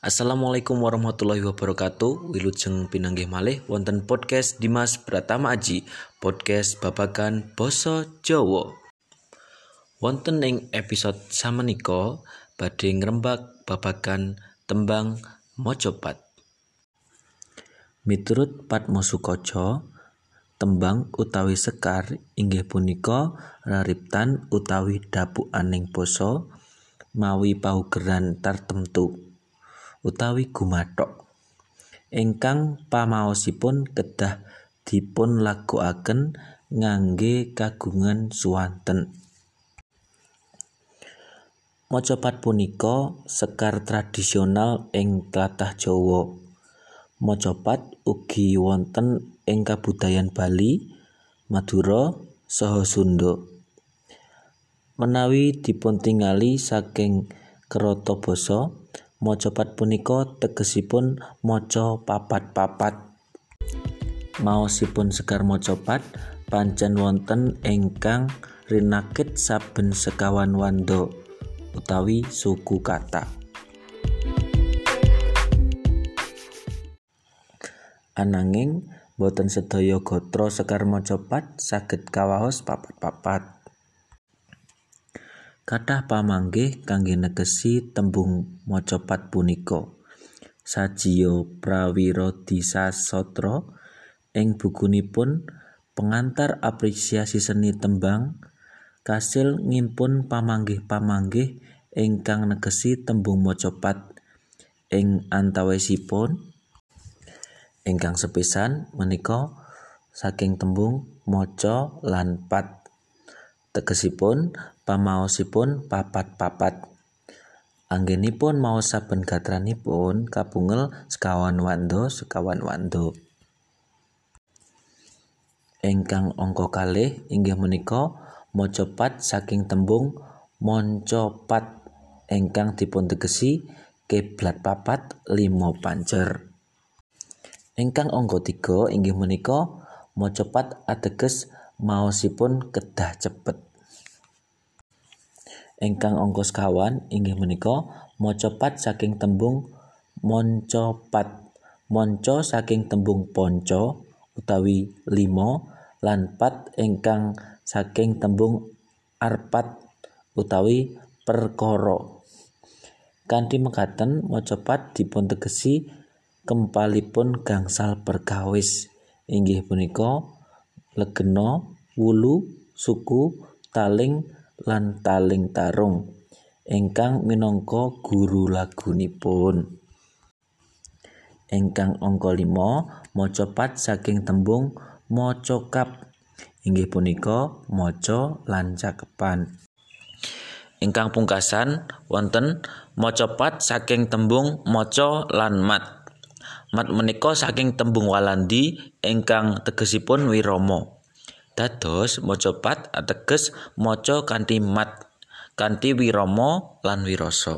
Assalamualaikum warahmatullahi wabarakatuh. Wilujeng pinanggih malih wonten podcast Dimas Pratama Aji, podcast babagan basa Jawa. Wonten ing episode samenika badhe ngrembak babagan tembang Mojopat. Miturut Padma Sukaca, tembang utawi sekar inggih punika rariptan utawi dapukaning basa mawi paugeran tartemtu utawi gumathok ingkang pamaosipun kedah dipun lagokaken ngangge kagungan swanten. Mojopat punika sekar tradisional ing tlatah Jawa. Mojopat ugi wonten ing kabudayan Bali, Madura, saha Sunda. Menawi dipuntingali saking kerata basa, mojopat punika tegesipun maca papat-papat. Maosipun sekar mojopat pancen wonten ingkang rinakit saben sekawan wanda utawi suku kata. Ananging boten sedaya gatra sekar mojopat saged kawaos papat-papat. Kathah pamanggih kangge negesi tembung mojopat punika. Sajiya Prawirodisasatra ing bukunipun Pengantar Apresiasi Seni Tembang kasil ngimpun pamanggih-pamanggih ingkang negesi tembung mojopat ing antawisipun ingkang sepisan menika saking tembung moco lan pat. Tegesipun pamaosipun papat-papat. Anggenipun maos saben gatranipun kapungel sekawan wanda. Ingkang angka kalih inggih menika mojopat saking tembung moncopat ingkang dipuntegesi kiblat papat lima panjer. Ingkang angka 3 inggih menika mojopat ateges maosipun kedah cepet. Ingkang angka 5 inggih menika mojopat saking tembung moncopat. Monco saking tembung ponco utawi 5 lan pat ingkang saking tembung arpat utawi perkara. Kanthi mekaten mojopat dipuntegesi kempalipun gangsal perkawis inggih punika legena, wulu, suku, taling lan taling tarung ingkang minangka guru lagunipun. Ingkang angka 5 mojopat saking tembung mocokap inggih punika maca lan cakepan. Ingkang pungkasan wonten mojopat saking tembung maca lan mat. Mat menika saking tembung Walandi ingkang tegesipun wirama. Dados mojopat ateges maca kanthi mat, kanthi wirama lan wirasa.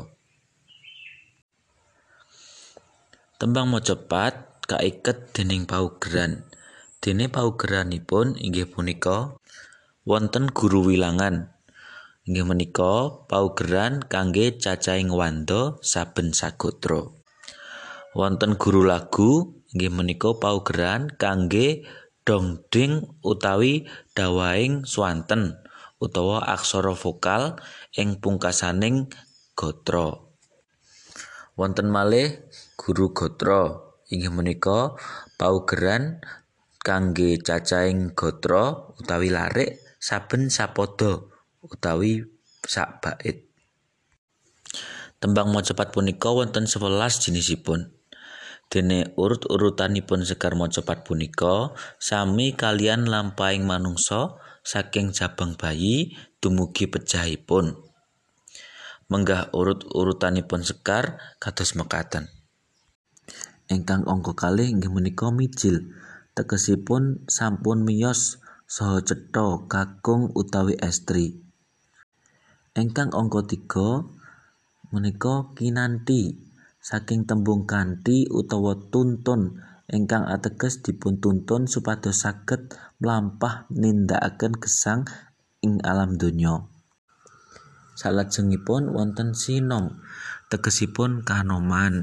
Tembang mojopat kaiket dening paugeran. Dene paugeranipun inggih punika wonten guru wilangan. Inggih menika paugeran kangge cacahing wanda saben sagatra. Wonten guru lagu inggih menika paugeran kangge dongding utawi dawahing swanten utawa aksara vokal ing pungkasaning gatra. Wonten malih guru gatra inggih menika paugeran kangge cacahing gatra utawi larik saben sapada utawi sak bait. Tembang mojopat punika wonten 11 jinisipun. Dene urut-urutanipun sekar mojopat punika sami kalian lampahing manungsa saking jabang bayi dumugi pejahipun. Menggah urut-urutanipun sekar kados mekaten. Ingkang angka kalih inggih menika mijil, tegesipun sampun miyos saha cetha kakung utawi estri. Ingkang angka 3 menika kinanthi saking tembung kanthi utawa tuntun ingkang ateges dipuntuntun supados saged mlampah nindakaken gesang ing alam donya. Salajengipun wonten sinom, tegesipun kanoman.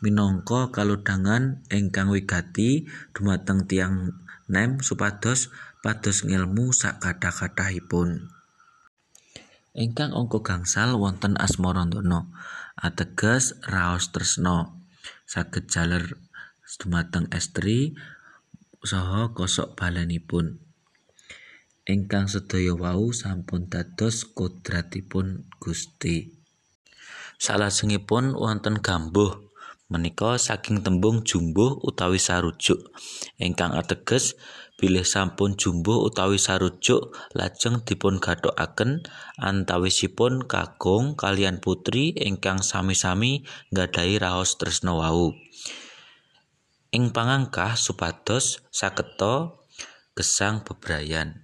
minangka kalodhangan ingkang wigati dumateng tiyang nem supados pados ngilmu sakatah-katahipun. Ingkang angka gangsal wonten asmarandana, ateges raos tresna, saged jaler dumateng estri saha kosok balenipun. Ingkang sedaya wau sampun dados kodratipun Gusti. Salajengipun wonten gambuh, menika saking tembung jumbuh utawi sarujuk, ingkang ateges bilih sampun jumbuh utawi sarujuk lajeng dipun gathokaken antawisipun kakung kaliyan putri ingkang sami-sami nggadhahi raos tresna wau. Ing pangangkah supados saketa gesang bebrayan.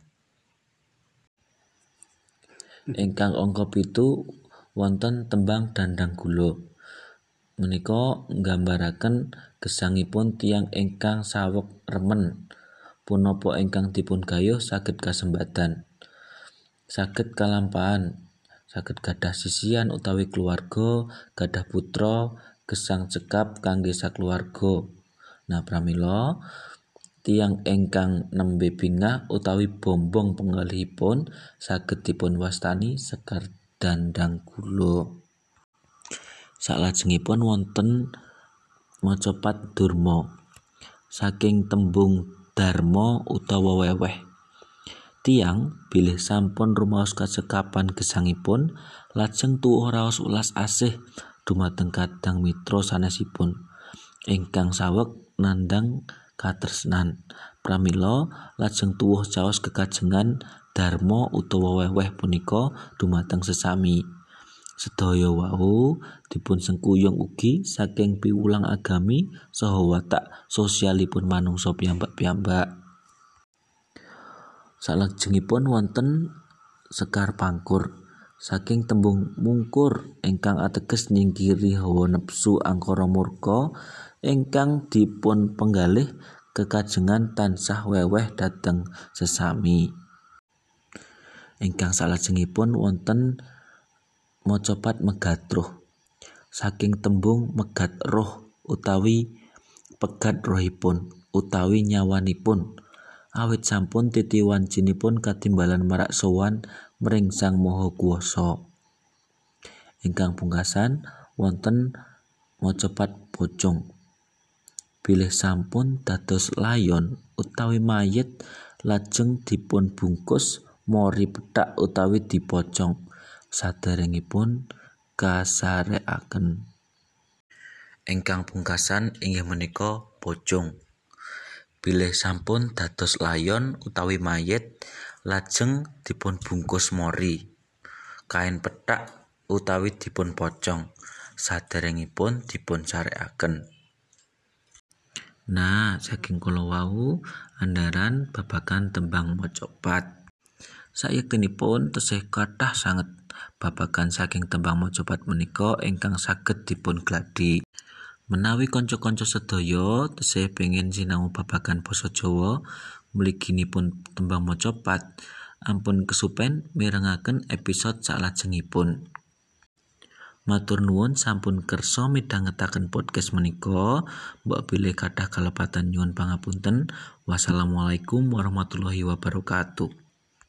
Ingkang angka 7 wonten tembang dandang gula. Menika nggambaraken gesangipun tiyang ingkang saweg remen punapa ingkang dipun gayuh saged kasembadan, saged kalampahan, saged gadah sisian utawi keluarga, gadah putra, gesang cekap kangge sakluwarga. Nah, pramila tiyang ingkang nembe bingah utawi bombong penggalihipun saged dipun wastani sekar dandang gula. Salajengipun wonten macapat durma. Saking tembung dharma utawa weweh. Tiyang bilih sampun rumaos kacekapan gesangipun lajeng tuwuh raos welas asih dumateng kadang mitra sanesipun ingkang saweg nandhang katresnan. Pramila lajeng tuwuh caos kekajengan dharma utawa weweh punika dumateng sesami. Sedaya wau dipun sengkuyung ugi saking piwulang agami saha watak sosialipun manungsa piyambak-piyambak. Salajengipun wonten sekar pangkur. Saking tembung mungkur ingkang ateges nyingkiri hawa nepsu angkara murka ingkang dipun penggalih kekajengan tansah weweh dhateng sesami. Ingkang salajengipun wonten macapat megat-ruh. Saking tembung megat roh utawi pegat rohipun utawi nyawanipun awit sampun titiwancinipun katimbalan marak sowan mring Sang Maha Kuwasa. Ingkang pungkasan wonten macapat pocong. Bilih sampun dados layon utawi mayit lajeng dipun bungkus mori pethak utawi dipocong saderengipun kasarekaken. Ingkang pungkasan inggih menika pocong. Bilih sampun dados layon utawi mayit lajeng dipun bungkus mori kain pethak utawi dipun pocong saderengipun dipun sarekaken. Nah, saking kula wau andharan babagan tembang macapat. Sayektinipun tesih kathah sanget babagan saking tembang macapat menika ingkang saged dipun gladi. Menawi kanca-kanca sedaya tesih pengin sinau babagan basa Jawa mliginipun tembang macapat, ampun kesupen mirengaken episode salajengipun. Matur nuwun sampun kersa midhangetaken podcast menika. Mbok bilih kathah kalepatan nyuwun pangapunten. Wassalamualaikum warahmatullahi wabarakatuh.